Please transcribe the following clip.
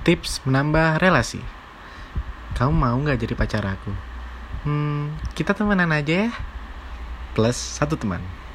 Tips menambah relasi. Kamu mau gak jadi pacar aku? Kita temenan aja ya. Plus 1 teman.